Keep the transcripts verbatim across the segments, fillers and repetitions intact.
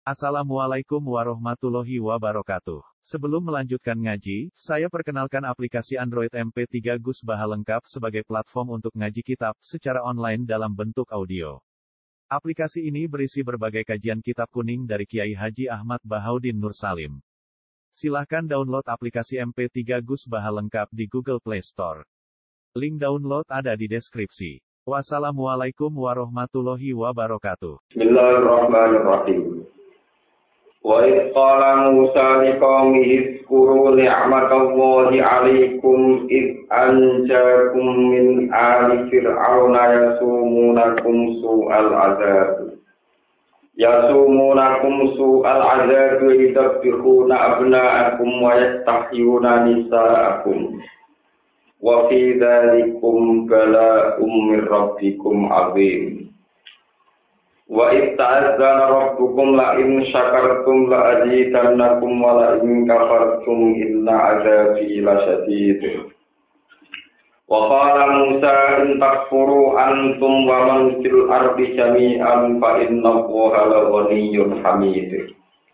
Assalamualaikum warahmatullahi wabarakatuh. Sebelum melanjutkan ngaji, saya perkenalkan aplikasi Android M P tiga Gus Baha lengkap sebagai platform untuk ngaji kitab secara online dalam bentuk audio. Aplikasi ini berisi berbagai kajian kitab kuning dari Kiai Haji Ahmad Bahaudin Nur Salim. Silahkan download aplikasi M P tiga Gus Baha lengkap di Google Play Store. Link download ada di deskripsi. Wassalamualaikum warahmatullahi wabarakatuh. Bismillahirrahmanirrahim. Wa idh qala Musa liqaumihi zkuru ni'matallahi 'alaikum id anjakum min ali fir'auna yasumunakum su'al 'adzab. Yasumunakum su'al 'adzab yadhbihuna abna'akum wa yastahyuna nisa'akum. Wa fi dzalikum bala'um min rabbikum 'adzim. Wa itta'adzana rabbukum la in syakartum la azidannakum wa la in kafartum inna 'adzabi lasyadid. Wa qala Musa in takfuru antum wa man fil ardi jami'an fa innallaha laghaniyyun hamid.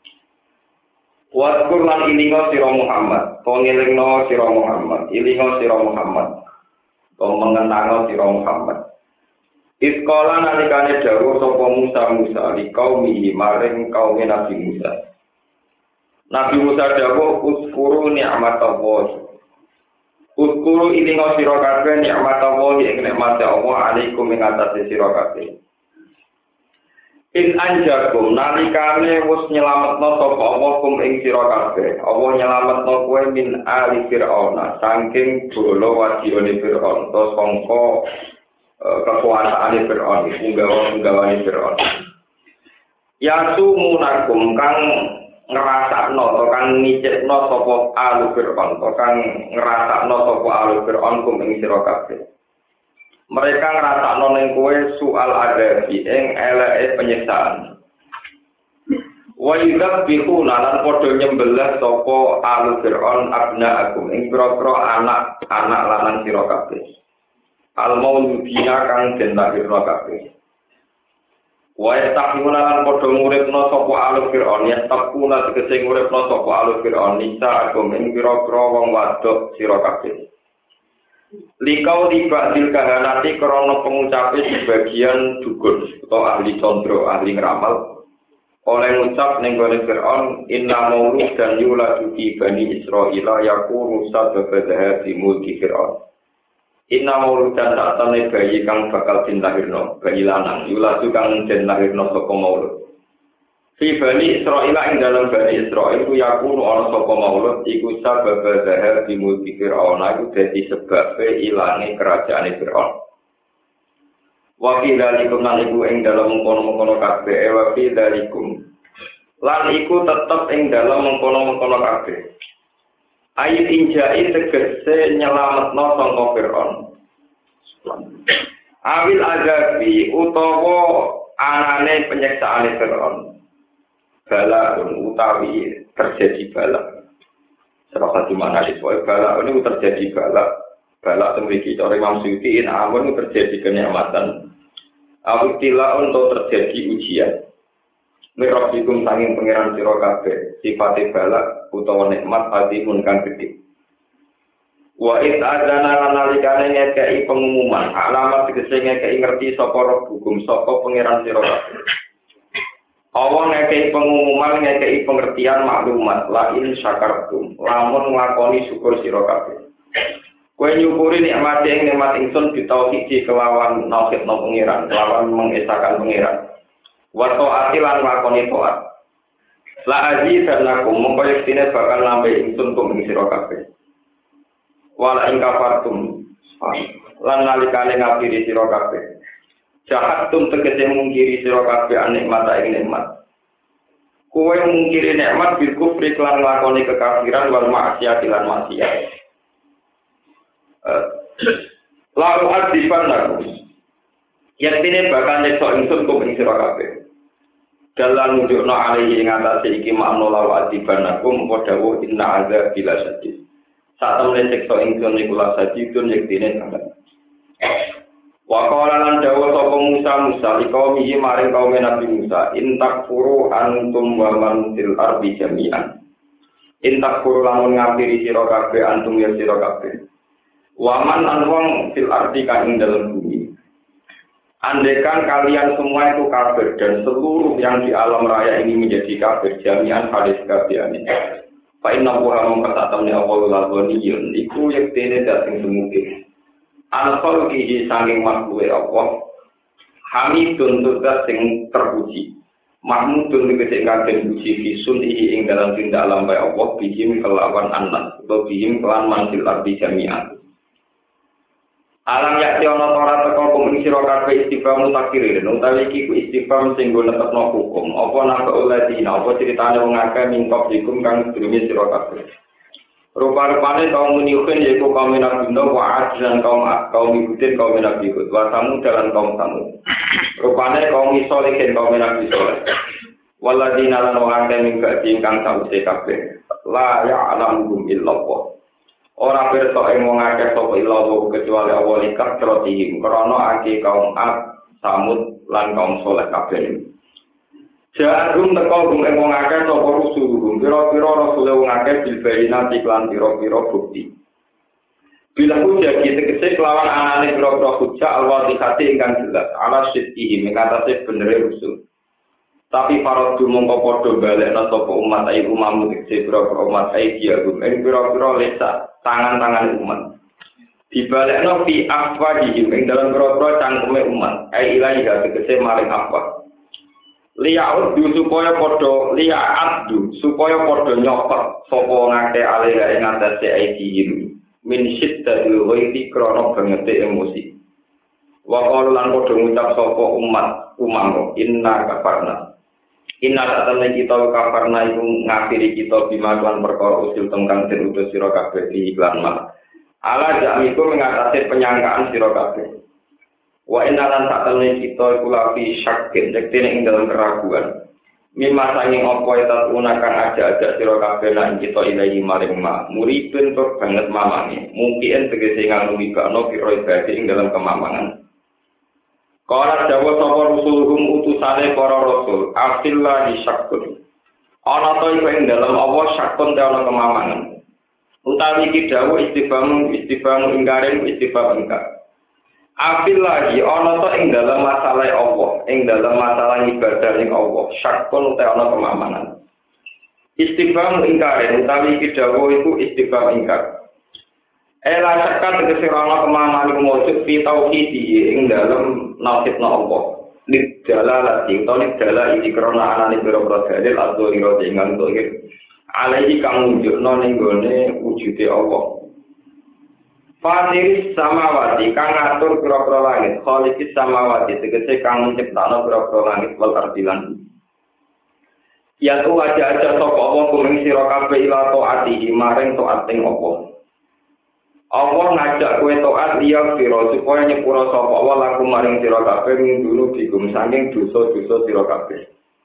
Wa zkur lan ilinga sira Muhammad, pengelingna sira Muhammad, ilinga sira Muhammad, mengenangna sira Muhammad. Iskola nalikane dawuh sapa Musa Musa li kaumihi maring kaum Nabi Musa. Nabi Musa dawuh uskuru ni'matallah. Uskuru ilinga sira kabeh ni'matallah ing nikmate Allah alaikum ing atase sira kabeh. In anjakum nalikane wis nyelametno sapa Allah kum ing sira kabeh. Allah nyelametno kowe min ali Fir'auna saking bolo wajibane Fir'aun to sangka kekuasaan Fir'aun, punggawa-punggawane Fir'aun. Yasumunakum kang ngrasakno to kang ngicipno sapa alu Fir'aun, to kang ngrasakno sapa alu Fir'aun kum ing sira kabeh. Mereka ngrasakno ning kowe soal adabi ing eleke penyiksaan. Wa yudzabihuna lan padha nyembelih sapa alu Fir'aun abna'akum ing pira-pira anak-anak lanang sira kabeh. Al-mauludina kang den lahirna kabeh. Wa yastaqimuna lan padha nguripna sapa alu Fir'aun, yastaquna tegese nguripna sapa alu Fir'aun nisa agam ing pira-pira wong wadok sira kabeh. Likau dibadil kahanati krana pengucape sebagian dukun utawa ahli condro, ahli ngeramal oleh ngucap ning gone Fir'aun inna maulud dan yuladu fi bani Israila yakunu sababa di mulki Fir'aun. Inna mauludan ta'atane bayi kang bakal dilahirno, bayi lanang, yuladu kang den lahirno saka maulud. Fi bani Israil ing dalam bani Israil ku yakunu ana saka maulud iku sabab zahar di mulki Fir'aun iku dadi sebab ilange kerajaan Fir'aun. Wa fi dzalikum lan iku ing dalam mengkono-mengkono kabeh wa fi dzalikum. Lan iku tetep ing dalam mengkono-mengkono kabeh. Ayat injai tegese nyelametno sangka Fir'aun. Awil azabi utawa anane penyiksaan Fir'aun. Bala utawi terjadi bala. Serasa di mana disebut bala ini terjadi bala. Bala memiliki cara Imam Suyuti in amun terjadi kenikmatan. Awil tila untuk terjadi ujian. Mirabikum sanging pangeran sira kabeh sifate balak utawa nikmat azimun kang gedhe. Wa id adzana lan nalikane ngekeki pengumuman alamat tegese ngekeki ngerti sapa hukum sapa pangeran sira kabeh. Allah ngekeki pengumuman ngekeki pengertian maklumat la in syakartum lamun nglakoni syukur sira kabeh. Kowe nyukuri nikmat ing nikmat ingsun ditauhid kelawan nauhidna pangeran, kelawan mengesahkan pangeran. Wato atilan lakoni toat. La aji dan lakum mongko yektine bakal nambe ingsun kum ing sira kabeh. Wala ing kafartum lan nalikane ngapiri sira kabeh. Jahatum tegese mungkiri sira kabeh nikmat ing nikmat. Kowe mungkiri nikmat bil kufri lan lakoni kekafiran wal maksiat lan maksiat. Lalu adiban lakum. Yektine bakal nyekso ingsun kum ing sira kabeh. Dalam nunjukno alaihi ing atase iki makna law adibanakum padha inna azab bila sadid. Saat temen siksa ingsun niku la sadidun yektine sanget. Wa qala lan dawa sapa Musa Musa liqaumihi maring kaum Nabi Musa intakfuru antum wa man fil ardi jami'an. Intakfuru lamun ngapiri sira kabeh antum ya sira kabeh. Wa man an wong fil ardi kang ing dalem bumi. Andaikan kalian semua itu kafir dan seluruh yang di alam raya ini menjadi kafir jami'an hadis kabehane. Fa inna huwa mengkatakan ya Allah lalwaniyun iku yektene dateng semuge. Al-Qol kihi sanging makhluk Allah Hamidun tugas sing terpuji Mahmudun tegese ingkang puji fisun ihi ing dalam tindak alam bae Allah bihim kelawan anak atau bihim kelan mansil arti jami'an. Alam yakti ana ora teko kumeng sira kabeh istighfar mutakirin utawi iki ku istighfar sing go netepno hukum apa napa oleh dina apa critane wong akeh mingkop dikum kang sedurunge sira kabeh. Rupa-rupanya kaum Nuhin yaitu kaum Nabi Nuh, Wa'ad dan kaum kaum Hudin, kaum Nabi Hud, wa Samud dan kaum Samud. Rupanya kaum Solihin, kaum Nabi Soleh. Waladina lan wong akeh ing badi ingkang sawise kabeh. La ya'lamuhum illallah. Ora pirsa ing wong akeh sapa illallah kecuali Allah likah trotihim krana akeh kaum Ad, Samud lan kaum Soleh kabeh. Ja'arum teko gum ing wong akeh sapa rusuluhum pira-pira rasul wong akeh bilbayina iklan pira-pira bukti. Bila hujah tegese kelawan anane pira-pira hujah al-wadihati ingkang jelas ala sidqihi mengatasi benere rusul. Tapi para dumongko padha balekna sapa umat ayi umam tegese pira-pira umat ayi diagum ing pira-pira lesa tangan-tangan umat. Dibalekna fi afwadihim ing dalam pira-pira cangkeme umat ayi ilahi tegese maring apa. Liyaud supaya padha liyaat supaya padha nyopot sapa ngake alih ing atase aidihim min syiddatil ghaiti krana bangete emosi. Wa qalu lan padha ngucap sapa umat umam inna kafarna. Inna tatane kita kafarna iku ngafiri kita bima lan perkara usil tengkang den utus sira kabeh di iklan mah. Ala jamiku mengatasi penyangkaan sira kabeh. Wa inna lan sakjane kita iku lafi syakin yektene ing dalam keraguan. Mimma sanging apa eta unakan aja-aja sira kabeh lan kita ilahi maring ma. Muripun tur banget mamane. Mungkin tegese nganu mibakno pira ibade ing dalam kemamangan. Kala dawa sapa rusuluhum utusane para rasul, afillahi syakun. Ana to iku ing dalam apa syakun te ana kemamangan. Utawi iki dawuh istifham istifham ingkaren istifham ingkar. Afil lagi ana to ing dalam masalah Allah, ing dalam masalah ibadah ing Allah, syakun utawa ana kemamanan. Istifham ingkar utawi iki dawuh iku istifham ingkar. Ela syakkan tegese ana kemamanan iku mujud fi tauhidi ing dalam nasibna Allah. Liddalalati utawa lidalal iki krana anane pira-pira dalil adzhira ing ngantuk alaihi kang nunjukno ning gone wujude Allah. Fatiris samawati kang ngatur pira-pira langit, khaliqis samawati tegese kang nyiptakno pira-pira langit wal ardilan. Ya tu aja-aja sapa apa kumeng sira kabeh ila taati maring taat ing apa. Allah ngajak kowe taat liya sira supaya nyepura sapa wa laku maring sira kabeh ngundunu digum saking dosa-dosa sira kabeh.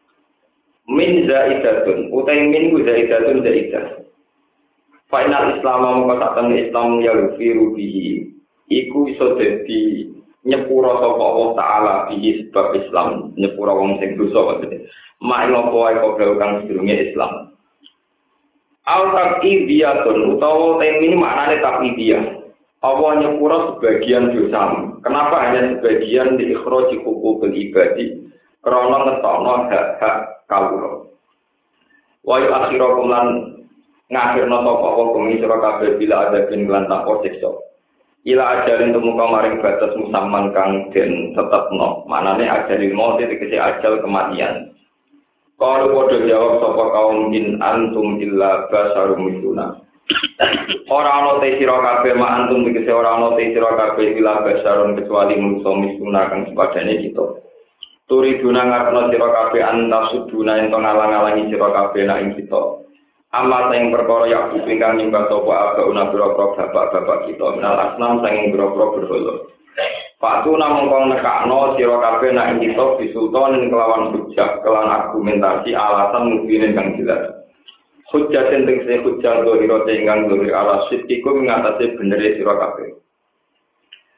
Min zaidatun utai min zaidatun zaidah. Final Islam mongko sakten Islam ya rufiru bihi iku iso dadi nyepura sapa Allah taala bihi sebab Islam nyepura wong sing dosa maksudnya mak ngopo wae kok kang sedurunge Islam al taqidiyatun utawa temini maknane taqidiyah Allah nyepura sebagian dosa kenapa hanya sebagian di ikhraji hukukul ibadi krana ngetokno hak-hak kawula wa akhirakum lan ngakhirna sapa apa kumi sira kabeh bila ada bin lan takwa siksa ila ajalin tumuka maring batas musamman kang den tetepno manane ajalil maut tegese ajal kematian kalau padha jawab sapa kaum in antum illa basarum misluna ora ana te sira kabeh ma antum tegese ora ana te sira kabeh illa basarun kecuali manusa misluna kang sepadane kita turi duna ngarepno sira kabeh antasuduna ento ngalang-alangi sira kabeh nek ing kita amal sing perkara ya ingkang nyembah sapa aga una boro-boro bapak-bapak kita menal asnam sing boro-boro berhala. Patu namung kang nekakno sira kabeh nek kita bisultan kelawan hujjah kelawan argumentasi alasan mungkin kang jelas. Hujjah sing tegese hujjah dohira ingkang dohir ala sitiku ngatasi benere sira kabeh.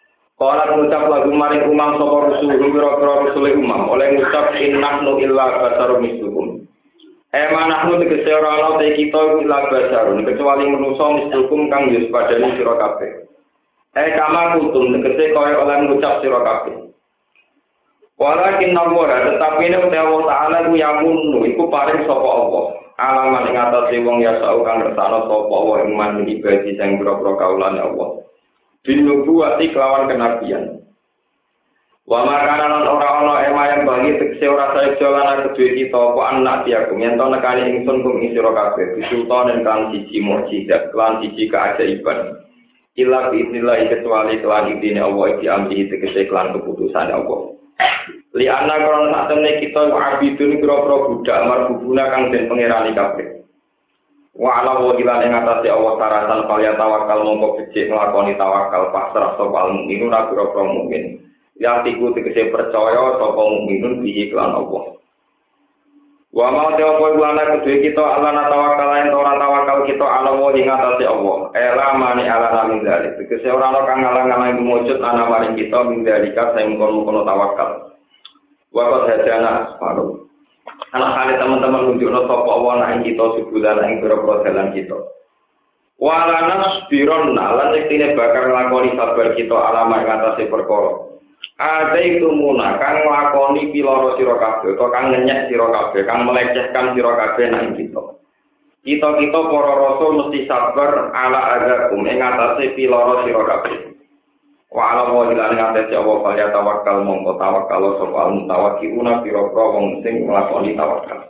Kala ngucap lagu maring umam sapa rusul pira-pira rusule umam oleh ngucap innahnu illa basarum mislukum. Eh manahnu tegese ora ana te kita illa basarun kecuali manusa mislukum kang yus padane sira kabeh. Eh kama kutum tegese kaya oleh ngucap sira kabeh. Walakin nabuha tetapi nek Allah Ta'ala ku yamun iku paring sapa Allah. Alaman ing atase wong ya sau kang ngersano sapa wa iman ibadi sing pira-pira kaulane Allah. Binubuwati kelawan kenabian. Wa makana lan ora ana ema yang bagi tekse ora saeja lan kedue kita apa anak diaku yen to nekani ingsun kum ing sira kabeh bisultan kan siji mukjizat lan siji keajaiban. Ila biidznillah kecuali kelan idine Allah iki amri tegese kelan keputusan Allah. Li ana krono satemene kita abidun pira-pira budak marbubuna kang den pangerani kabeh. Wa ala wa ila ing atase Allah taratan kaliya tawakal mongko becik nglakoni tawakal pasrah sapa mukmin ora pira-pira mukmin. Ya tiku tegese percaya sapa mukminun bihi kelan Allah. Wa ma ta apa lana kedue kita ala tawakal yen ora tawakal kita ala wa ing atase Allah. Ela mani ala min dzalik. Tegese ora ana kang ngalang-alang mujud ana maring kita min dzalika sing kono-kono tawakal. Wa qad hadana paru. Anak kali teman-teman nunjukno sapa Allah nang kita sebulan ing pira-pira dalan kita. Walanas biron lan yektine bakal nglakoni sabar kita alamat ngatasi perkara. Ada itu muna kang nglakoni piloro sira kabeh utawa kang ngenyek sira kabeh, kang melecehkan sira kabeh nang kita. Kita-kita para rasul mesti sabar ala agakum ing ngatasi piloro sira kabeh. Wa ala wa ila ngatasi Allah kaya tawakal mongko tawakal sapa mutawakkiluna pira-pira wong sing nglakoni tawakal.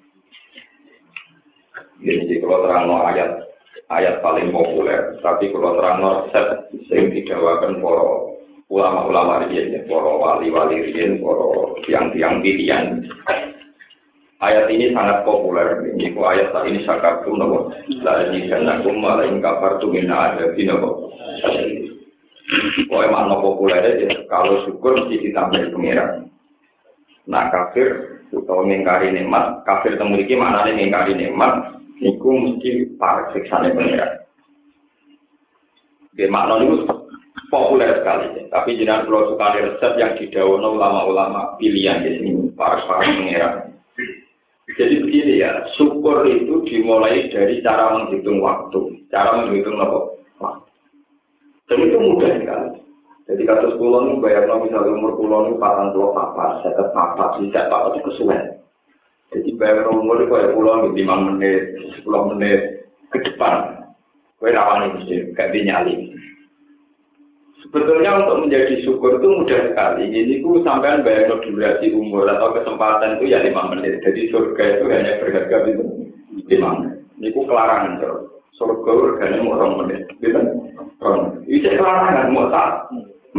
Jadi kalau terangno ayat ayat paling populer, tapi kalau terangno set sing didawakan para ulama-ulama riyen, para wali-wali riyen, para tiang-tiang pilihan. Ayat ini sangat populer. Ini ku ayat saat ini sakatum nabo. La jinakum ma la in kafartum min adabi nabo. Pokoknya makna populernya kalau syukur mesti ditambah pengiran. Nah kafir atau mengingkari nikmat, kafir temuriki maknanya mengingkari nikmat, niku mesti para siksane pengiran. Oke, makna itu populer sekali. Tapi jenengan kalau suka resep yang didhawuhna ulama-ulama pilihan di sini para para pengiran. Jadi begini ya, syukur itu dimulai dari cara menghitung waktu, cara menghitung waktu. Dan itu mudah sekali. Jadi kasus kulon itu bayar misalnya umur kulon itu patang puluh papa, seket papa, tidak papa itu kesuwen. Jadi bayar umur itu kayak kulon lima menit, sepuluh menit ke depan. Kue rawan itu gak dinyali. Sebetulnya untuk menjadi syukur itu mudah sekali. Jadi ku sampean bayar durasi umur atau kesempatan itu ya lima menit. Jadi surga itu hanya berharga itu lima menit. Ini ku kelarangan terus. Surga harganya mau orang menit, gitu? Orang. Itu kelarangan mau tak.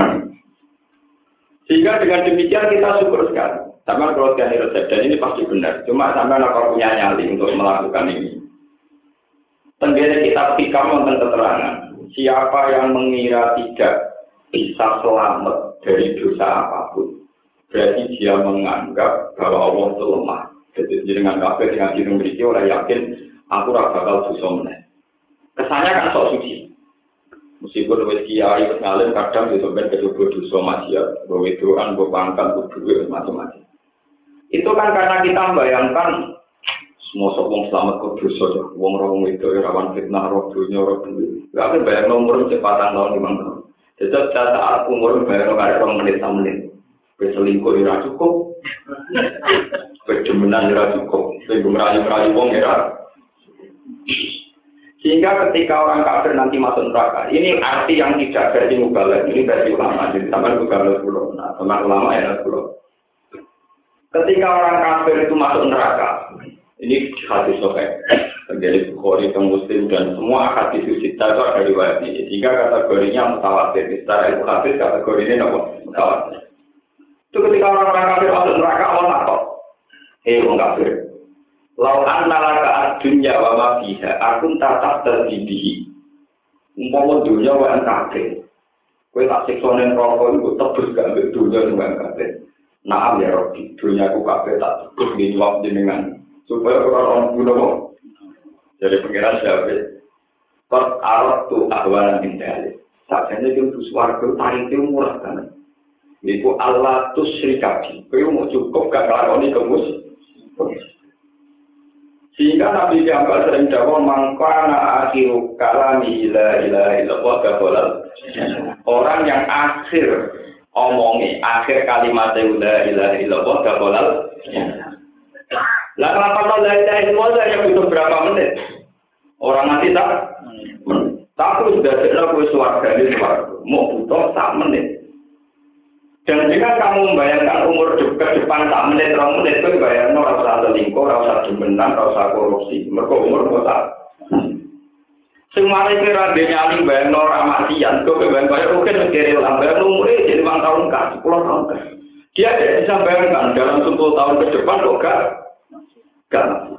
Sehingga dengan demikian kita syukur sekali. Sama kalau sekali resep dan ini pasti benar. Cuma sampai apa punya nyali untuk melakukan ini. Tentunya kita pikir tentang keterangan. Siapa yang mengira tidak bisa selamat dari dosa apapun, berarti dia menganggap bahwa Allah itu lemah. Jadi dengan kafir dengan diri memiliki orang yakin aku ora bakal dosa meneh. Kesannya kan sok suci. Meskipun wis kiai wis ngalim kadang itu ben kecoba dosa maksiat, bahwa itu kan pangkat kudu macam-macam. Itu kan karena kita membayangkan semua wong selamat kok dosa ya. Wong wong itu rawan fitnah roh dunya roh dunya. Lah kan bayang umur cepatan tahun lima tahun. Jadi saat umur bayang kare rong menit sak menit. Wis selingkuh ora cukup. Kedemenan ora cukup. Sing merayu-merayu wong ora. Sehingga ketika orang kafir nanti masuk neraka, ini arti yang tidak versi mubalagh, ini versi ulama, jadi sama mubalagh pulau, nah sama ulama ya pulau. Ketika orang kafir itu masuk neraka, ini hadis sahih, terjadi Bukhari dan Muslim dan semua hadis sita itu ada riwayat ini, sehingga kategorinya mutawatir. Secara ilmu hadis kategorinya apa? Mutawatir. Itu ketika orang-orang kafir masuk neraka, Allah takut, eh orang kafir. Lau anna laka dunya wa ma fiha akun tatap terdidihi. Umpama dunya wa kafir. Kowe tak siksa ning neraka iku tebus gak ambek dunya wa kafir. Naam ya Rabbi, dunya ku kafir tak tebus ning wong jenengan. Supaya ora ono guna. Jadi pengiran siapa? Qad aratu ahwan min dalik. Sakjane iki swarga tarite murah banget. Iku Allah tusyrikabi. Kowe mau cukup gak nglakoni kemus. Sehingga Nabi Muhammad sering dawuh mangkana akhiru kalami la ilaha illallah qaulal. Orang yang akhir omongi akhir kalimat la ilaha illallah qaulal. Lah kenapa la ilaha illallah yang butuh berapa menit? Orang mati tak? Tapi sudah jelas kowe swarga di swarga. Mau butuh sak menit. Dan jika kamu membayangkan umur ke depan tak menit, rong menit, itu bayangkan orang usah selingkuh, orang usah demenan, orang usah korupsi. Mereka umur kota. Semuanya kira dia nyali bayangkan orang matian, kau bayangkan kaya oke negeri ulang, bayangkan umurnya jadi lima tahun kan, sepuluh tahun kan. Dia tidak bisa bayangkan dalam sepuluh tahun ke depan kok gak, gak mati.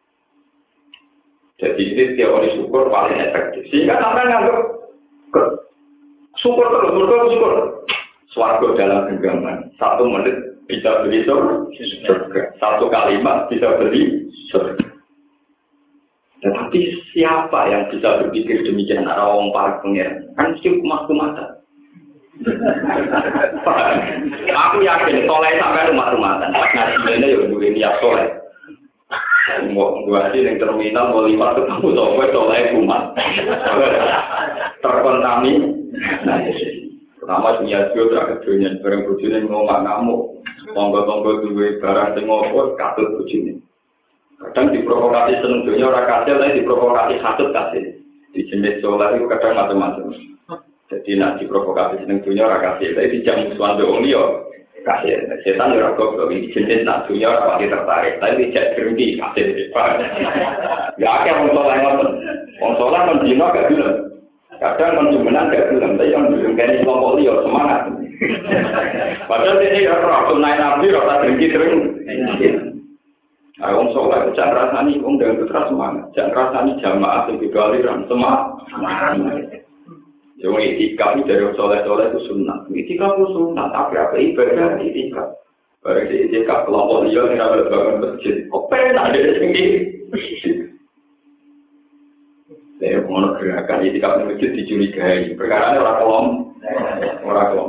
Jadi ini teori syukur paling efektif. Sehingga sampai nganggap syukur terus, mereka syukur. Swarga dalam genggaman, satu menit bisa beli surga, satu kalimat bisa beli surga. Tetapi siapa yang bisa berpikir demikian? Orang para pengiran kan mesti umat-umatan. Aku yakin soleh sampai umat-umatan. Ngaji ini ya dulu niat soleh. Mau gua sih yang terminal mau lima ketemu soleh soleh umat terkontaminasi. Pertama punya dua terakhir dunia, barang bujune ngomong ngamuk, tonggo-tonggo duwe barang sing ngopo katut bujune. Kadang diprovokasi seneng dunia ora kasil, tapi diprovokasi katut kasil. Di jenis solar itu kadang macam-macam. Jadi nak diprovokasi seneng dunia ora kasil, tapi dijam musuhan wong liya kasil. Setan ora goblok iki jenis nak dunia ora pati tertarik, tapi dijak berhenti kasil. Ya akeh wong soleh ngoten. Wong soleh men dino gak gelem. Kadang konsumenan gak bilang, tapi yang bilang kayaknya kelompok liya semangat. Padahal ini ya rasul naik nabi, rasa dengki sering. Nah, orang sholat jangan rasani, orang dengan putra semangat. Jangan rasani jamaah yang juga aliran semangat. Jadi itikaf dari orang sholat-sholat itu sunnah. Itikaf itu sunnah, tapi apa ibadah itikaf. Barang di itikaf kelompok liya yang ada bangun masjid. Kok pengen ada di sini? Saya mau gerakan itikaf di masjid dicurigai. Perkara orang kolom, orang kolom.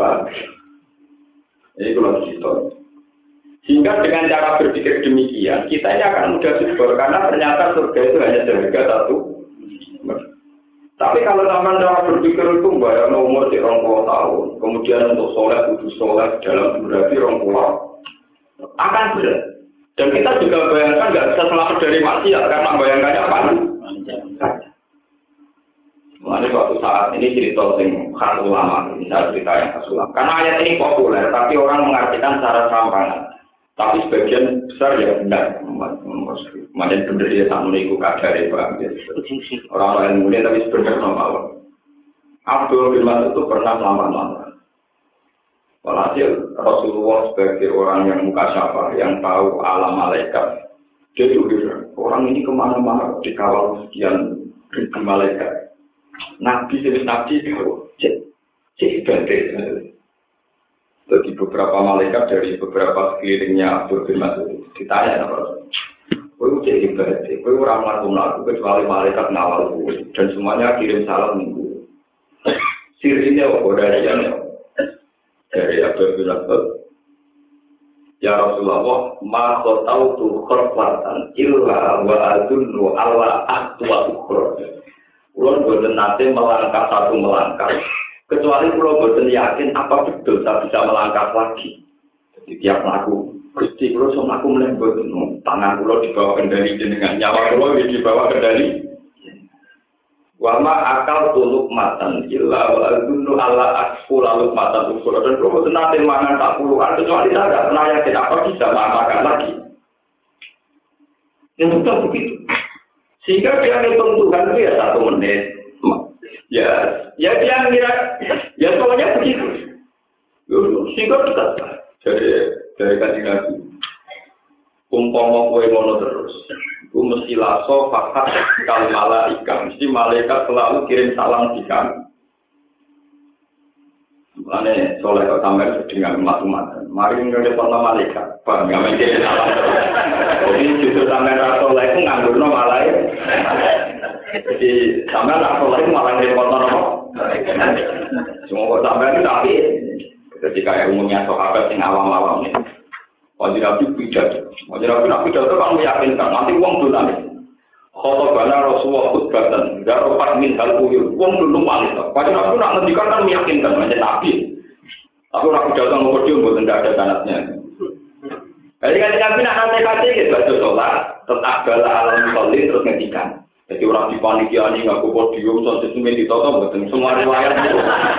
Ini kalau cerita. Sehingga dengan cara berpikir demikian, kita ini akan mudah syukur karena ternyata surga itu hanya seharga satu. Tapi kalau zaman cara berpikir itu bayar umur di dua puluh tahun, kemudian untuk sholat kudus sholat dalam durasi dua puluh akan berat. Dan kita juga bayangkan nggak bisa selamat dari maksiat karena bayangkannya panas. Mengenai suatu saat ini cerita yang khas ulama, misalnya cerita yang khas ulama. Karena ayat ini populer, tapi orang mengartikan secara serampangan. Tapi sebagian besar ya benar. Macam benar dia tak menikah kadar itu. Orang lain mulia tapi sebenarnya normal. Abdul bin Mas'ud itu pernah lama-lama. Walhasil Rasulullah sebagai orang yang mukasyafah, yang tahu alam malaikat, dia juga orang ini kemana-mana dikawal sekian ribu malaikat. Nabi jenis Nabi tahu, cek, cek ibadah. Jadi beberapa malaikat dari beberapa sekelilingnya Abdul bin Mas'ud ditanya apa? Kau cek ibadah, kau orang melakukan kecuali malaikat ngawal dan semuanya kirim salam minggu. Sirinya apa dari yang dari Abdul bin Mas'ud? Ya Rasulullah, ma qatautu khurfatan illa wa adunnu ala aqwa ukhra. Kulo boten nate melangkah satu melangkah, kecuali kulo boten yakin apa betul saya bisa melangkah lagi. Jadi tiap laku, Gusti kulo sok aku mleh boten, tangan kulo dibawa kendali dengan nyawa kulo dibawa kendali. Wa ma akal tuluk matan illa wa adunnu ala aqwa matan ukhra. Dan kulo boten nate mangan tak puluhan, kecuali saya tidak pernah yakin apa bisa makan lagi. Yang betul begitu. Sehingga dia hitung Tuhan itu ya satu menit. Ya, ya dia ngira, ya soalnya begitu. Sehingga dekat. Jadi dari kaji Nabi, umpama kowe ngono terus, ku mesti laso fakat kal malaika, mesti malaikat selalu kirim salam di kami. Mulane soleh kok sampeyan dengan umat-umatan. Mari ngrepot malaikat, Pak, ngamen kirim salam. Jadi justru sampeyan ra soleh ku nganggo malaikat. Jadi sampeyan ra soleh malah ngrepot napa? Semua kok sampai itu tapi jadi kayak umumnya sahabat yang awam-awam nih. Wajib Nabi pidato. Wajib Nabi nak pidato kan meyakinkan nanti uang dulu nanti. Kalau bana Rasulullah khutbatan, daropat min hal uyur, uang dulu manis. Wajib Nabi nak ngendikan kan meyakinkan macam Nabi. Aku nak pidato ngomong dia buat tidak ada sanatnya. Jadi kan Nabi nak nanti gitu baca sholat, tetap bala alam sholat terus ngendikan. Jadi orang di panitia ini ngaku podium, sosis ini ditoto, betul. Semua riwayat itu.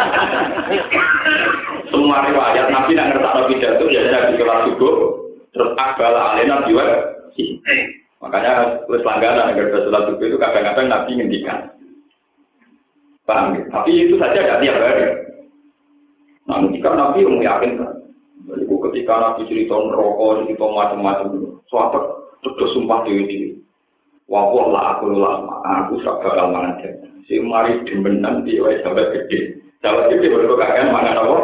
Semua riwayat Nabi nak ngertak pidato, ya Nabi kelas subuh, terus akbala alena jiwa. Makanya terus langganan agar sholat subuh itu kadang-kadang Nabi ngendikan. Paham ya? Tapi itu saja tidak tiap hari. Nah, ketika Nabi yang meyakinkan. Jadi ketika Nabi cerita neraka, cerita macam-macam, suatu terus sumpah dewi-dewi. Wah, lah aku lama, aku suka bakal mangan deh. Si mari demenan di wae sampai gede. Sampai gede baru kakek mangan apa?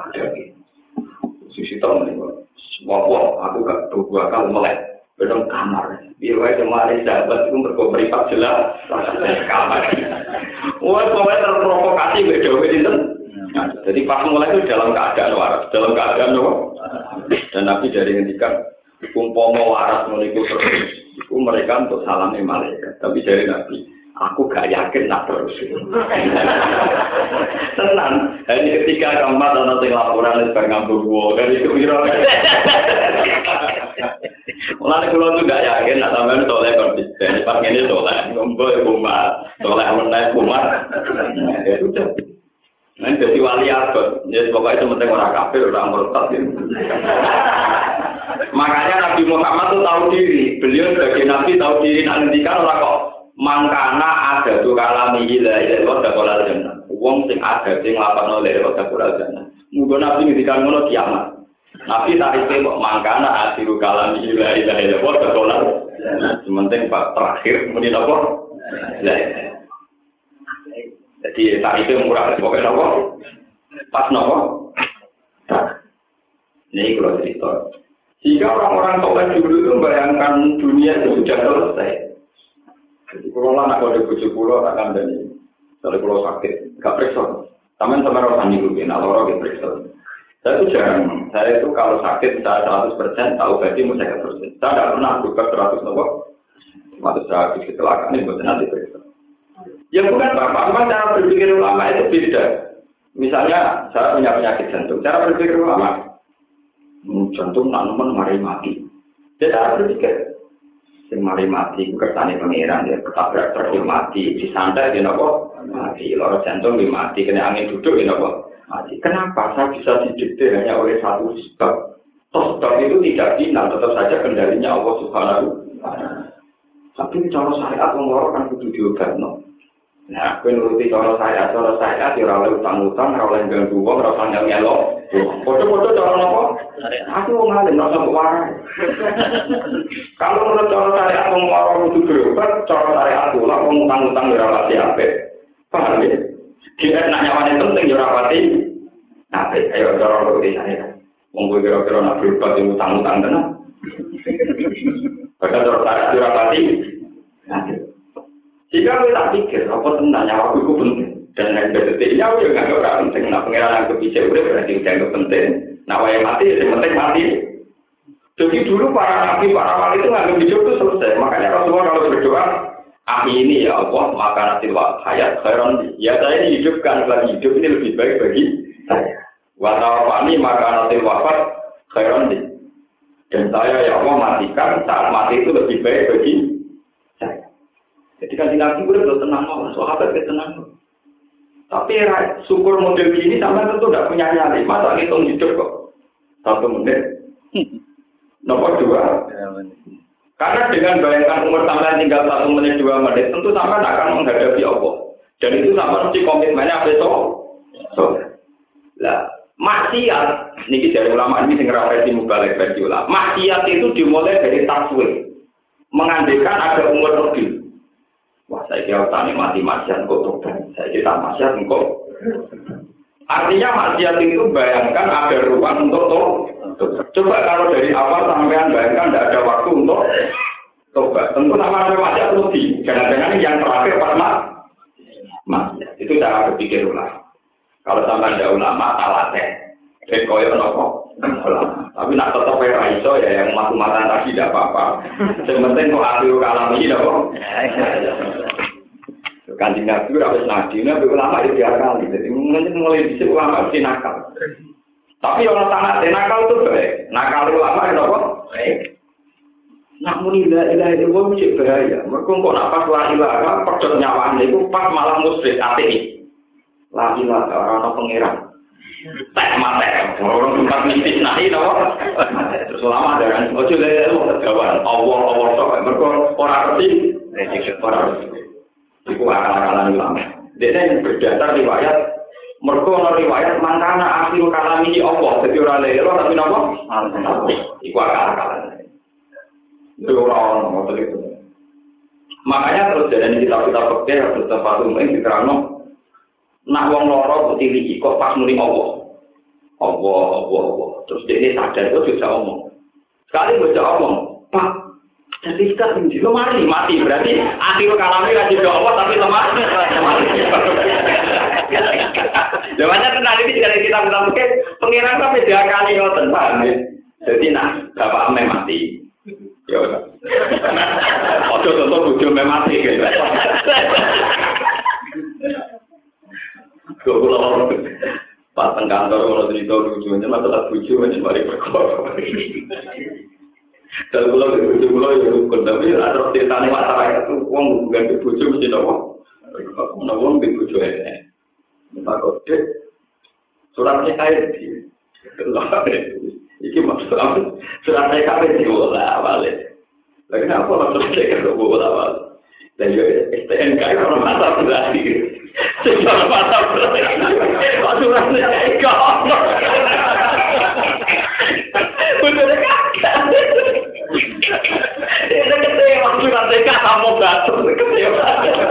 Sisi tahun ini. Wah, aku gak tuh bakal melek. Bedong kamar. Di wae kemarin sahabat itu berkomperipat jelas. Kamar. Wah, pokoknya terprovokasi beda itu. Jadi pas mulai itu dalam keadaan waras, dalam keadaan apa? Dan Nabi dari ngendikan, umpama waras meniku terus. Itu mereka untuk salami malaikat. Tapi dari Nabi, aku gak yakin nak terus. Tenang. Ini ketika kamat dan nanti laporan itu ngambur gua. Dari itu kira. Mulai kalau itu gak yakin, nak sampai soleh konsisten. Pas ini soleh, ngumpul kumat, soleh menaik kumat. Ya sudah. Nah, jadi wali abad. Jadi pokoknya itu penting orang kafir, orang murtad. Makanya Nabi Muhammad itu tahu diri. Beliau sebagai Nabi tahu diri. Nantikan orang kok mangkana ada tuh kalami ilah ilah roda kolal jannah. Uang sing ada sing lapan oleh roda kolal jannah. Mungkin Nabi ngendikan ngono kiamat. Nabi tarifnya kok mangkana asiru kalami ilah ilah ilah roda kolal. Sementing pak terakhir kemudian apa? Ilah. Jadi tarifnya murah. Pokoknya apa? Pas nopo. Ini kalau cerita. Jika orang-orang soleh dulu itu membayangkan dunia itu sudah selesai. Jadi kalau anak kalau di bujuk pulau akan dari dari pulau sakit, nggak periksa. Taman sama orang di rumah, nah orang periksa. Saya itu jarang. Saya itu kalau sakit saya seratus persen tahu berarti mau saya persen. Saya tidak pernah buka seratus nopo. Seratus seratus kecelakaan ini buat nanti periksa. Ya bukan apa-apa, cuma cara berpikir ulama itu beda. Misalnya saya punya penyakit jantung, cara berpikir ulama. Jantung nak nemen mari mati. Dia tak berpikir, sing mari mati, kersane pangeran dia ketabrak truk mati, disantai dia nopo mati, loro jantung dia mati, kena angin duduk dia nopo mati. Kenapa saya bisa didikte hanya oleh satu sebab? Toh sebab itu tidak final, tetap saja kendalinya Allah Subhanahu wa taala. Tapi cara syariat wong kan kudu diobatno. Nah, aku nuruti cara saya, cara saya di ora oleh utang-utang, ora oleh ganggu wong, ora usah nyelo. Foto-foto cara napa? Aku wong alim ora usah warai. Kalau menurut cara saya wong ora kudu berobat, cara saya aku lah wong utang-utang ora pati apik. Paham ya? Dia nak nyawane penting ora pati apik. Ayo cara nuruti saya. Wong kowe kira-kira nak berobat utang-utang tenan. Padahal cara saya ora pati apik. Jika kita tak pikir, apa tenang nyawa itu penting. Dan lain sebagainya, aku juga nggak orang penting. Nah, pengiran yang kebijakan udah berarti udah penting. Nah, yang mati, yang penting mati. Jadi dulu para nabi, para wali itu nggak kebijakan itu selesai. Makanya Rasulullah kalau berdoa, ah ini ya Allah, maka nanti hayat khairan. Ya saya dihidupkan, lagi hidup ini lebih baik bagi saya. Watawafani maka nanti wafat khairan. Dan saya ya Allah matikan saat mati itu lebih baik bagi saya. Jadi kan Nabi udah tenang mau, sahabat tenang. Tapi syukur model gini sampai tentu tidak punya nyali. Masa hitung hidup kok satu menit. Nomor dua. Karena dengan bayangkan umur sampai tinggal satu menit dua menit, tentu sampai akan menghadapi Allah. Dan itu sampai mesti komitmennya besok. So, lah maksiat. Ini dari ulama ini sing referensi mubalik versi ulama. Maksiat itu dimulai dari taswir, mengandaikan ada umur lebih. Wah, saya kira tani mati maksiat kok tobat. Saya kira maksiat kok. Artinya maksiat itu bayangkan ada ruang untuk tobat. Coba kalau dari awal sampean bayangkan tidak ada waktu untuk tobat. Tentu sama ada maksiat lebih. Jangan-jangan yang terakhir pas maksiat. Itu cara berpikir ulang. Kalau sampai ada ulama, talatnya. Ben koyo nopo. Tapi nak tetap era iso ya yang matu-matan tadi tidak apa-apa. Yang penting kok akhir kalam ini nopo. Kanjeng Nabi harus nabi, nabi ulama itu biar kali. Jadi mungkin mulai bisa ulama mesti nakal. Tapi orang sangat nakal itu baik. Nakal ulama itu apa? Baik. Nak muni la ilaha illallah mesti bahaya. Mergo kok nak pas la ilaha pedhot nyawane iku pas malah musyrik ateis. La ilaha ora pangeran. Tak mate. Orang tempat mistis nahi to. Terus ulama ada kan ojo lele terjawab. Allah Allah tok mergo ora ngerti. Ora ngerti. Iku akal-akalan ulama. Dene berdasar riwayat mergo ana riwayat mangkana akhir kalam iki Allah dadi ora lelo tapi napa? Iku akal-akalan. Itu orang ngotot itu. Makanya terus jadi kitab-kitab fikih harus tempat umum diterangno nak wong loro putih kok pas muni Allah. Allah, Allah, Allah. Terus dia sadar itu bisa omong. Sekali bisa omong, Pak, jadi kita tinggi lemari mati berarti akhir kalamnya kan juga Allah tapi lemah. Jawabannya kenal ini dari kita kita mungkin pengiran sampai dua kali ngoten paham ya. Jadi nah bapak ame mati. Ya udah. Ojo contoh bojo ame mati gitu. Goblok. Pas teng kantor ono cerita lucunya masalah bojo macam mari perkara. Kalau pulau itu pulau itu kondami ada ceritanya masyarakat itu uang bukan dibujuk mesti nopo, nopo dibujuk ya. Maka deh suratnya kayak di, ini maksud apa? Suratnya kayak di bola balik. Lagi apa maksudnya kayak bola balik? Dan juga S T N K itu orang mata berarti, secara mata berarti. Suratnya kayak bener kakak. Itu kecewa surat dekat sama batu kecewa.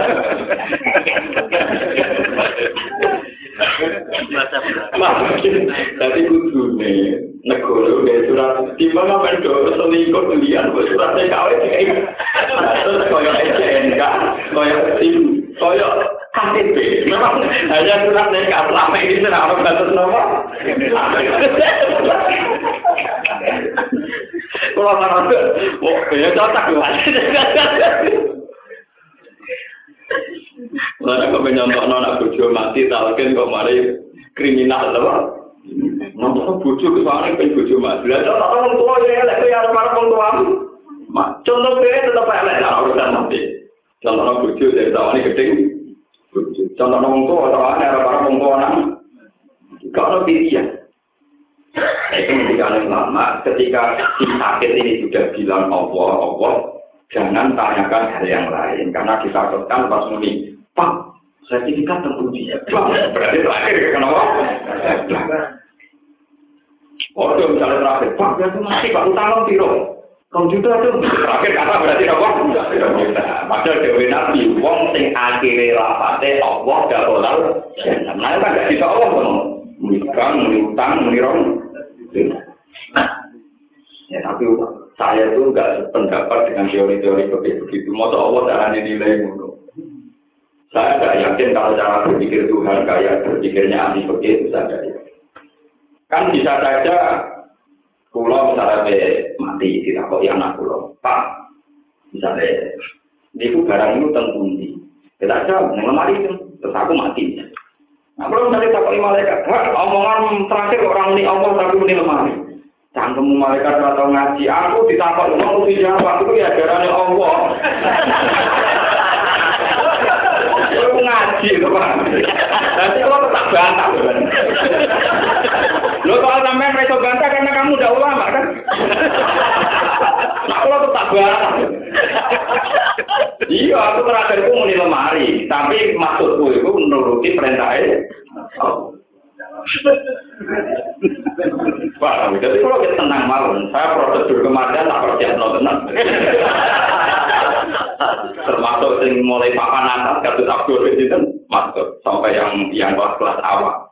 Tapi kudu nih negara udah surat di mana pendok selingkuh kuliah surat D K W terus koyo S T N K koyo SIM koyo K T P memang hanya surat D K selama ini tidak ada batas nomor. Kalau orang itu, oh, ya cocok luar. Lalu aku menyontok anak bojo mati, talken kok mari kriminal, apa? Nampak bojo kesana pengen bojo mati. Lalu orang tua ya, lek ya para orang tua. Contoh dia tetap elek lah urusan mati. Contoh bojo dari tahun ini gedeng. Contoh orang tua tahun ini para orang tua nang. Kalau pilihan. Itu menjadi lama ketika si sakit ini sudah bilang Allah, Allah, jangan tanyakan hal yang lain karena ditakutkan pas muni, Pak, sertifikat teruji, berarti terakhir kenapa? Oh, itu misalnya terakhir, Pak, berarti masih Pak utang piro, komputer itu terakhir kata berarti apa? Padahal dewi nabi, wong sing akhirnya lapate Allah gak boleh, nah kan gak bisa Allah dong. Menikah, menutang, menirong. Ya tapi saya tuh nggak sependapat dengan teori-teori begitu. Masa Allah caranya nilai dulu. Saya nggak yakin kalau cara berpikir Tuhan kayak berpikirnya anti begitu saja. Kan bisa saja pulau misalnya mati tidak kok yang anak pulau. Pak, misalnya itu barang itu tentundi. Kita aja mengemari itu, terus aku mati. Nah, kalau misalnya tak kali malaikat, omongan terakhir orang ini Allah tapi ini lemari. Cangkemmu malaikat atau ngaji, aku ditakut ngomong mesti jawab itu ya darahnya Allah. Aku ngaji itu Pak. Nanti kalau tetap bantah kan. Lo kalau sampai mereka bantah karena kamu udah ulama kan. Nah kalau tetap bantah. Iya, aku terakhir itu muni lemari, tapi maksudku itu menuruti perintahnya. Wah, jadi kalau kita tenang malam, saya prosedur kematian tak percaya tenang. Termasuk yang mulai papan atas, kasus Abdul itu masuk sampai yang yang kelas-kelas awal.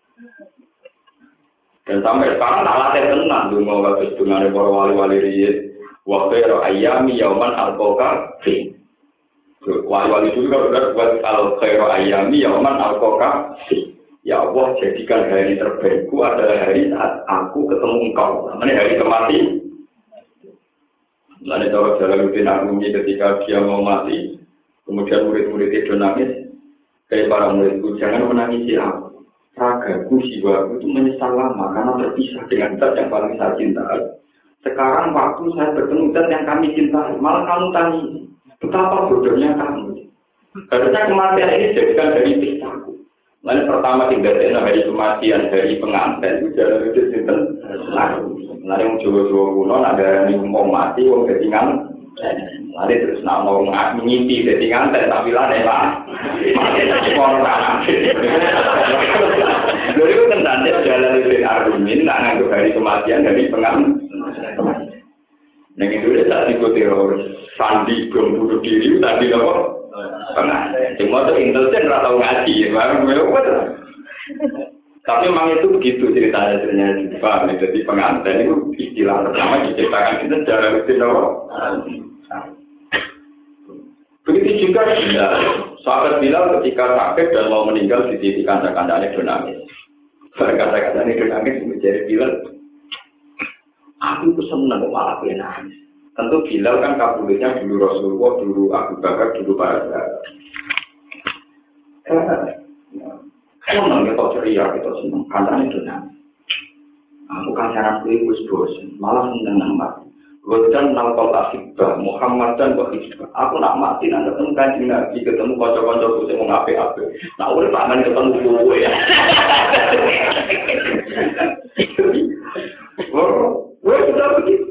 Dan sampai sekarang tak latih tenang, dulu kasus dengan para wali-wali riyad. Waktu itu ayami yauman al-qoka fi. Wali-wali juga sudah buat al-khairu ayami yauman al-qoka fi. Ya Allah, jadikan hari terbaikku adalah hari saat aku ketemu engkau. Namanya hari kematian. Lalu cara Jalaluddin Arumi ketika dia mau mati, kemudian murid-murid itu nangis, kayak para muridku, jangan menangisi aku. Ragaku, jiwaku itu menyesal lama karena terpisah dengan zat yang paling saya cintai. Sekarang waktu saya bertemu zat yang kami cintai, malah kamu tanya, betapa bodohnya kamu. Harusnya kematian ini jadikan dari pisahku. Lalu pertama tidak ada hari kematian, hari pengantin itu jalan itu sinten. Lalu yang Jawa-Jawa kuno ada yang mau mati, mau ketinggalan. Lalu terus nak mau ngimpi ketinggalan, tapi lah nih lah. Orang Lalu itu tentangnya jalan itu argumen, nak nganggup hari kematian, hari pengantin. Yang itu dia tak ikut teroris, sandi bom bunuh diri, tadi apa? Pengantin. Cuma itu intelijen nggak tahu ngaji, baru tapi memang itu begitu ceritanya ceritanya juga. Jadi pengantin itu istilah pertama diciptakan itu jalan itu apa? Begitu juga Bilal. Sahabat Bilal ketika sakit dan mau meninggal di titik kandang-kandangnya donangis. Kandang-kandangnya donangis menjadi Bilal. Aku itu senang malah nangis. Tentu Bilal kan kabulnya dulu Rasulullah, dulu Abu Bakar, dulu para sahabat. Senang kita ceria, kita senang. Kandangnya donangis. Aku kan cara kuih bosan, malah senang nambah. Godan nalkol asibah, Muhammad dan Wahibah. Aku nak mati, nak ketemu kancing Nabi, ketemu kocok-kocok saya mau ngape-ape. Nah, udah tangan ketemu gue ya. Oh, gue sudah begitu.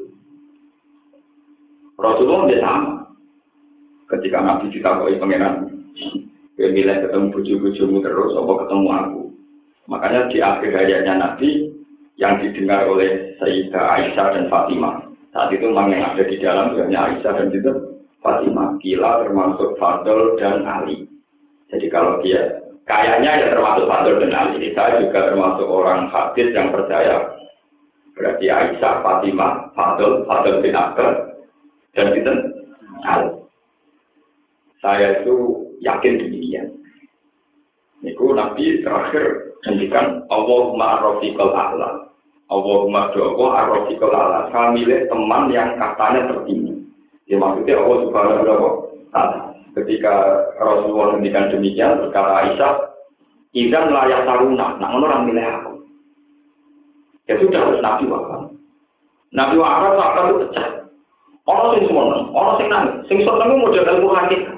Rasulullah dia sama. Ketika Nabi ditakoi pangeran, gue milih ketemu buju-bujumu terus, apa ketemu aku. Makanya di akhir hayatnya Nabi, yang didengar oleh Sayyidah Aisyah dan Fatimah. Saat itu memang yang ada di dalam hanya Aisyah dan juga Fatimah. Gila termasuk Fadl dan Ali. Jadi kalau dia kayaknya ya termasuk Fadl dan Ali. Saya juga termasuk orang hadis yang percaya. Berarti Aisyah, Fatimah, Fadl, Fadl bin Abbas dan itu Ali. Saya itu yakin demikian. Niku Nabi terakhir menghentikan Allahumma arrofiqal a'la. Allahumma doa arrofiqal a'la. Saya milih teman yang katanya tertinggi. Ya maksudnya Allah subhanahu wa ta'ala. Ketika Rasulullah menghentikan demikian, berkata Aisyah, Izan layak taruna, nah orang milih aku. Ya sudah, harus Nabi wafat. Nabi wafat, wafat itu pecah. Orang sing semono, orang sing nangis, sing seneng model ilmu hakikat.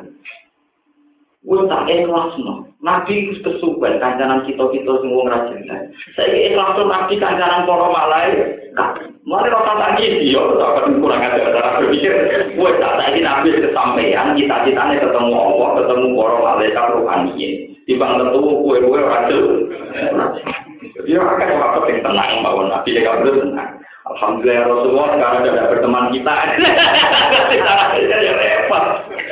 Wes tak ikhlas no. Nabi wis kesuwen kancanan kita-kita sing wong ra cinta. Saiki ikhlas Nabi kancanan para malaikat. Mare ora tak iki yo tak kurang ajar cara berpikir. Wes tak saiki Nabi kesampaian cita-citane ketemu Allah, ketemu para malaikat rohani. Timbang ketemu kowe-kowe ora jelas. Dia akan waktu yang tenang bahwa Nabi dia kabur tenang. Alhamdulillah Rasulullah sekarang sudah berteman kita. Kita ya repot.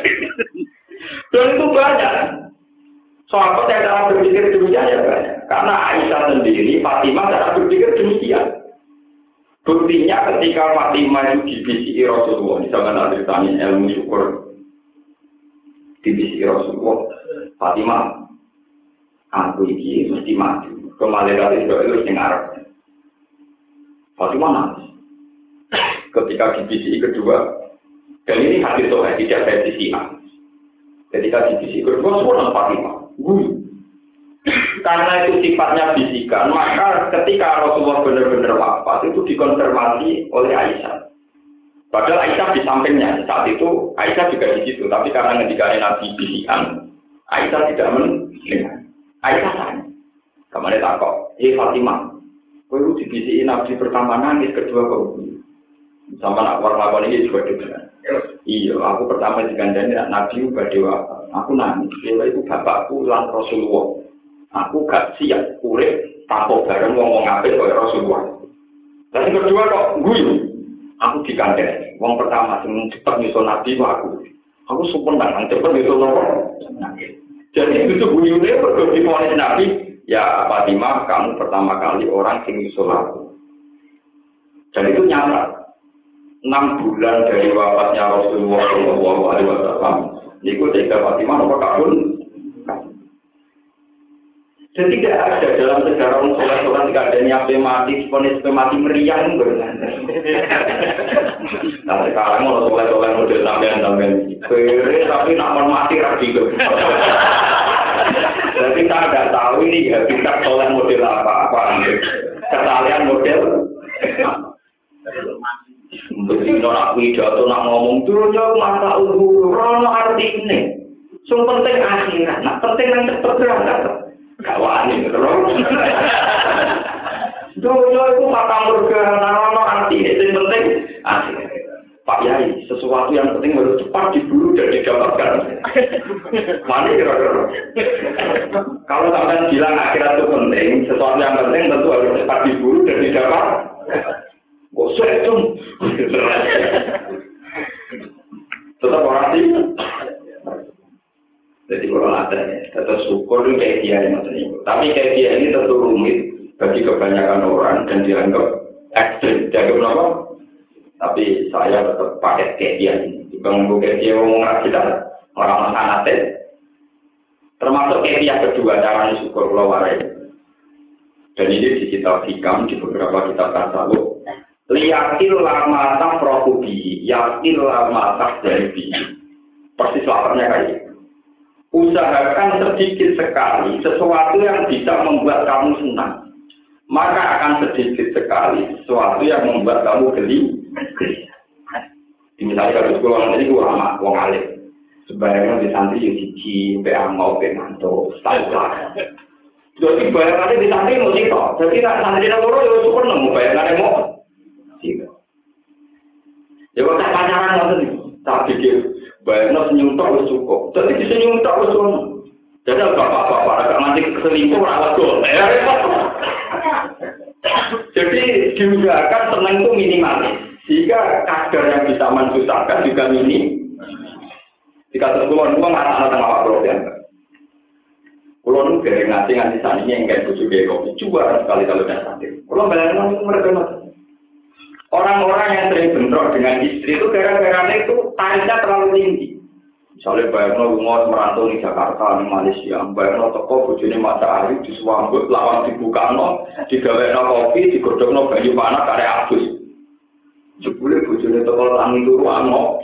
Dan itu banyak. Sahabat yang cara berpikir demikian ya banyak. Karena Aisyah sendiri, Fatimah cara berpikir demikian. Buktinya ketika Fatimah itu dibisiki Rasulullah, di zaman ceritanya ilmu syukur dibisiki Rasulullah, Fatimah, aku ini mesti mati. Kemalaikat itu itu yang Arab. Fatimah nangis. Ketika dibisiki kedua, dan ini hadis soal tidak versi A. Ketika dibisiki kedua, semua Fatimah. Guru. Karena itu sifatnya bisikan, maka ketika Rasulullah benar-benar wafat itu dikonfirmasi oleh Aisyah. Padahal Aisyah di sampingnya saat itu Aisyah juga di situ, tapi karena ketika Nabi bisikan, Aisyah tidak mendengar. Aisyah tanya, kemarin takut, eh Fatimah, kau itu dibisiki Nabi pertama nangis, kedua kau sama nak warna ini juga dengar. Iya, aku pertama digandani Nabi juga dewa. Aku nangis, dewa itu bapakku lan Rasulullah. Aku gak siap urip tanpa bareng ngomong apik kaya Rasulullah. Dan yang kedua kok guyu. Aku digandani. Wong pertama sing cepet nyusul Nabi ku aku. Aku sumpah nang cepet nyusul Nabi. Jadi itu guyune perlu diponis Nabi, ya Fatimah, kamu pertama kali orang sing nyusul aku. Dan itu nyata. Enam bulan dari wafatnya Rasulullah Shallallahu Alaihi Wasallam, niku tiga Fatimah nomor kabul. Jadi tidak ada dalam sejarah orang soleh-soleh tidak ada yang mati, ponis mati meriang benar. Nah sekarang mau soleh-soleh model sampean-sampean, kere tapi nak mati rapi gitu. Jadi saya tidak tahu ini ya kita soleh model apa apa, kesalahan model. Begitu nak pidato nak ngomong turun jauh masa ukur, rono arti ini. Yang penting akhirat, nak penting yang cepat berangkat. Kawan ini terus. Dojo itu mata murga, narono arti itu yang penting. Asik. Pak Yai, sesuatu yang penting harus cepat diburu dan didapatkan. Mana kira-kira? Kalau sampai bilang akhirat itu penting, sesuatu yang penting tentu harus cepat diburu dan didapat. Kok sulit dong? Tetap orang sih. Jadi kalau ada, tetap syukur itu kayak dia yang macam tapi kayak dia ini tentu rumit bagi kebanyakan orang dan dianggap ekstrim. Dianggap apa? Tapi saya tetap pakai kayak dia ini. Bang kayak dia ngomong kita orang sanate. Termasuk kayak dia kedua caranya syukur kalau warai. Dan ini di kitab hikam di beberapa kitab tasawuf. Liyakil lama tak prokubi, yakil lama tak dari persis laparnya kayak gitu. Usahakan sedikit sekali sesuatu yang bisa membuat kamu senang. Maka akan sedikit sekali sesuatu yang membuat kamu geli. Misalnya kalau sekolah nanti ulama, wong alim. Sebaliknya di santri yang siji, beangau, benganto, staflah. Jadi bayangannya di santri mau sih toh. Jadi santri yang loro ya syukur nemu bayangannya mau. Tidak. Ya kok tak pacaran nanti, tak pikir. Bayangnya senyum tak harus cukup. Jadi senyum tak harus cukup. Jadi bapak-bapak agak nanti keselingkuh rawat gol. Jadi diusahakan senang itu minimalis. Sehingga kadar yang bisa mensusahkan juga minim. Jika terkulon itu nggak tengah waktu ya. Kulon itu dari ngasih-ngasih saninya yang kayak bujuk kayak kopi. Coba sekali kalau udah sakit. Kulon bayangnya itu mereka nanti. Orang-orang yang sering bentrok dengan istri itu gara-gara itu tarifnya terlalu tinggi. Misalnya bayangnya rumah merantau di Jakarta, di Malaysia, bayangnya toko bojone matahari disuambut, lawan dibuka no, digawekno kopi, digodhogno banyu panas kare abus. Jebule bojone toko tangi turu ano.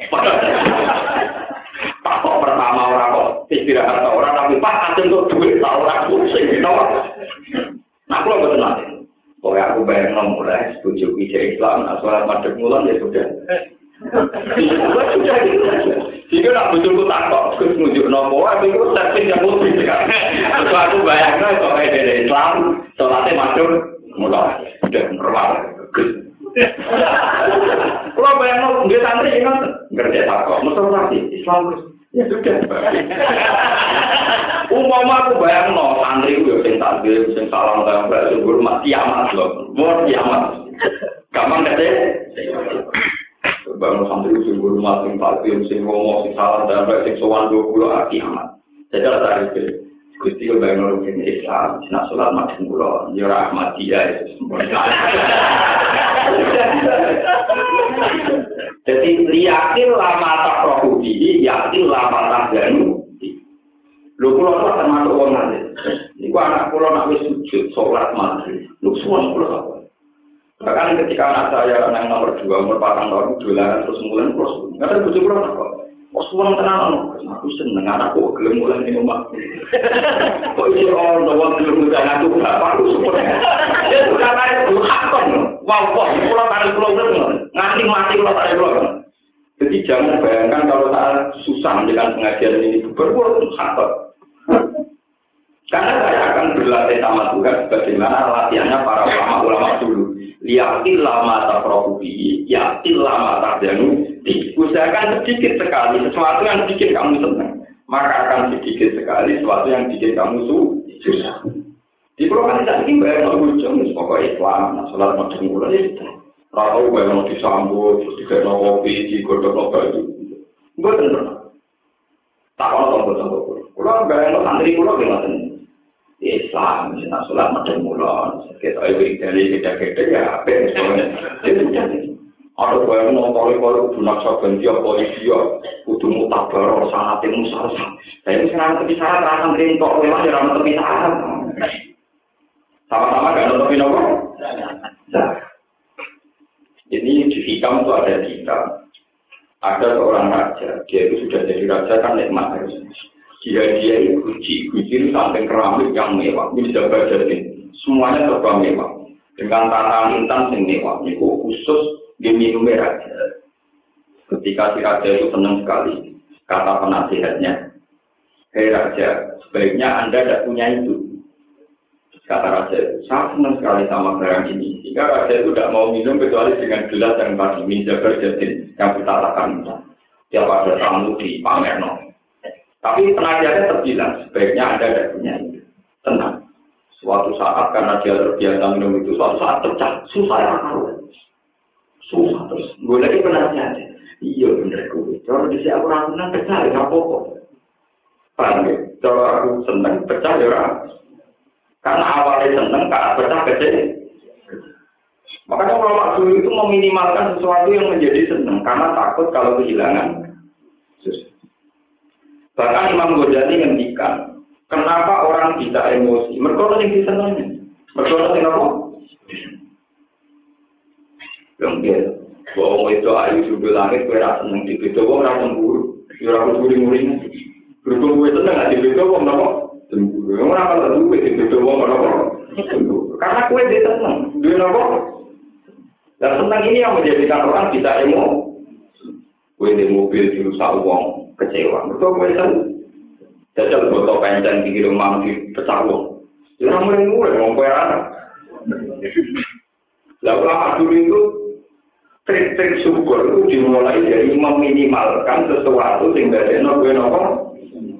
Pak kok pertama ora kok istirahat ta ora tapi Pak kadang kok duit ta ora pusing gitu. Nah, kalau betul nanti. Pokoknya aku bayang mulai setuju ide Islam, nah sholat madhab mulan ya sudah. Sudah gitu saja. Jika nak betul-betul takut, terus menunjuk nopo, aku itu servis yang lebih kan. Terus aku bayangnya kalau ide Islam, sholatnya madhab mulan, sudah normal. Kalau bayang dia santri kan ngerti takut, mesti nanti Islam ya sudah. Umpama aku bayang no santri gue sing takbir sing salam tambah sing hormat kiamat lho. Mau kiamat. Gampang kate. Bangun santri sing hormat sing takbir sing ngomong sing salam tambah sing sowan dua puluh kiamat. Jadi ada tarif Gusti yo bayang no sing Islam, sing salat madhep kula, yo Ahmadiyah itu sempurna. Jadi liyakin lama tak prohudi, yakin lama tak janu. Lho kula ora termasuk wong alim. Niku anak kula nak wis sujud salat maghrib. Lho suwon kula apa? Bahkan ketika anak saya yang nomor dua umur patang tahun dolanan terus mulai terus. Enggak bojo kula apa? Kok suwon tenan aku seneng anakku gelem mulai ning omah. Kok iso ono wong gelem mulai aku bapakku support. Ya sudah kare hakon. Wow, kok kula kare kula nganti mati kula kare kula. Jadi jangan bayangkan kalau saat susah dengan pengajian ini berbuat hakon. Karena saya akan berlatih sama Tuhan bagaimana latihannya para ulama-ulama dulu. Liyatil lama taprohubi, yatil lama tardanu. Usahakan sedikit sekali sesuatu yang bikin kamu senang. Maka akan sedikit sekali sesuatu yang bikin kamu susah. Di program ini bayang ujung, pokoknya Islam, sholat macam bulan itu. Kalau bayang disambut, terus dikena kopi, digodok baju. Gue tenang. Tak kalau tombol-tombol. Kalau bayang santri pulau gimana? Islam, misalnya sholat macam bulan. Kita ibu dari kita-kita ya, apa yang semuanya. Itu jadi. Ada bayang nonton kalau bunak saban dia polisi ya, kudu mutabar sangat musalsal. Saya ini orang tepi syarat, orang santri kok memang ya orang tepi syarat. Sama-sama gak nutupin apa? Ini di hikam itu ada hikam. Ada seorang raja, dia itu sudah jadi raja kan nikmat harus. Dia dia itu guci, guci itu samping keramik yang mewah. Ini jaga jadi semuanya serba mewah. Dengan tata intan yang mewah, itu khusus diminumnya raja. Ketika si raja itu senang sekali, kata penasihatnya, hei raja, sebaiknya Anda tidak punya itu. Kata raja itu, saya senang sekali sama barang ini. Jika raja itu tidak mau minum kecuali dengan gelas yang tadi, minjabar jadin, yang ditatakan. Dia pada tamu di Pamerno. Tapi penasihatnya terbilang, sebaiknya Anda tidak punya itu. Tenang. Suatu saat karena dia terbiasa minum itu, suatu saat pecah. Susah ya kalau. Susah terus. Gue lagi penasihatnya. Iya bener gue. Kalau di sini aku orang senang pecah, ya apa-apa. Paham ya? Kalau aku senang pecah, ya orang. Karena awalnya senang, tak pecah kecil. Makanya ulama dulu itu meminimalkan sesuatu yang menjadi senang. Karena takut kalau kehilangan. Bahkan Imam Ghazali ngendikan, kenapa orang bisa emosi? Mereka yang disenangi. Mereka yang apa? Yang bahwa itu ayu sudut langit, gue rasa seneng di beda, gue rasa cemburu. Ya aku guring-guring. Berhubung gue seneng, di beda, gue kenapa? Cemburu. Yang orang kalau gue di beda, gue kenapa? Cemburu. Karena gue dia seneng. Dia kenapa? Dan seneng ini yang menjadikan orang bisa emosi. Gue di mobil dirusak uang, kecewa. Mereka gue seneng. Jajal botol pencen di rumah, di pecah uang. Ya orang mulai-mulai, ngomong gue anak. Lalu lama dulu itu, trik-trik syukur itu dimulai dari meminimalkan sesuatu sehingga dia nopo-nopo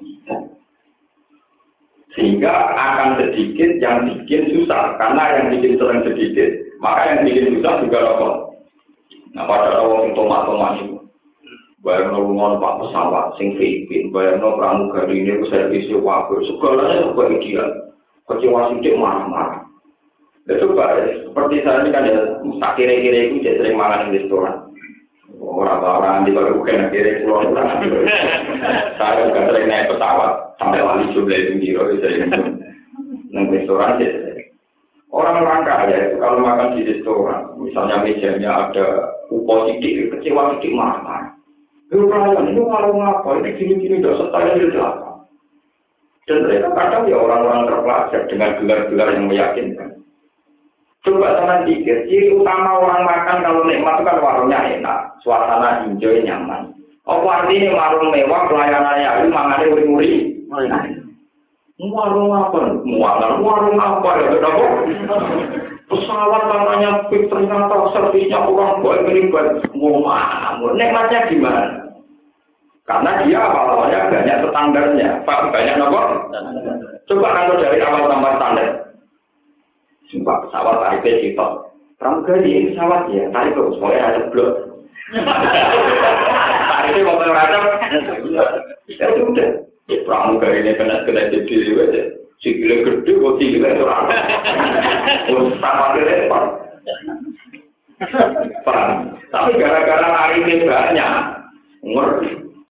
sehingga akan sedikit yang bikin susah karena yang bikin sering sedikit maka yang bikin susah juga nopo. Nah pada orang itu tomat-tomat itu bayar nongol pak pesawat sing Filipin bayar nongol pramugari ini servisnya wakil segalanya juga ideal kecewa sedikit marah-marah. Ya coba, seperti saya ini kan ya, tak kira-kira itu jadi sering makan di restoran. Orang-orang di bawah bukan kira keluar orang. Saya juga sering naik pesawat sampai wali jumlah itu biro, sering naik restoran jadi. Orang-orang kaya itu kalau makan di restoran, misalnya mejanya ada upo sidik, kecewa sidik marah-marah. Itu perayaan itu warung apa? Ini gini-gini udah setara di belakang. Dan mereka kadang ya orang-orang terpelajar dengan gelar-gelar yang meyakinkan. Coba sama pikir, ciri utama orang makan kalau nikmat itu kan warungnya enak, suasana hijau nyaman. Apa artinya warung mewah, pelayanannya itu mangannya uri-uri? Warung apa? Mualan, warung apa ya? Kenapa? Pesawat namanya pik ternyata servisnya orang baik beribad. Mau mana? Nikmatnya gimana? Karena dia awal-awalnya banyak standarnya. Pak, banyak apa? Coba kalau dari awal tambah standar. Sumpah pesawat tarifnya sitok. Pramugari ini pesawat ya, tarik terus, pokoknya ada blok. Tarifnya mau pengerajam. Ya sudah. Pramugari ini kena-kena jadi aja. Sikilnya gede, kok sikilnya itu rata. Sama repot. Paham? Tapi gara-gara tarifnya banyak, ngerti.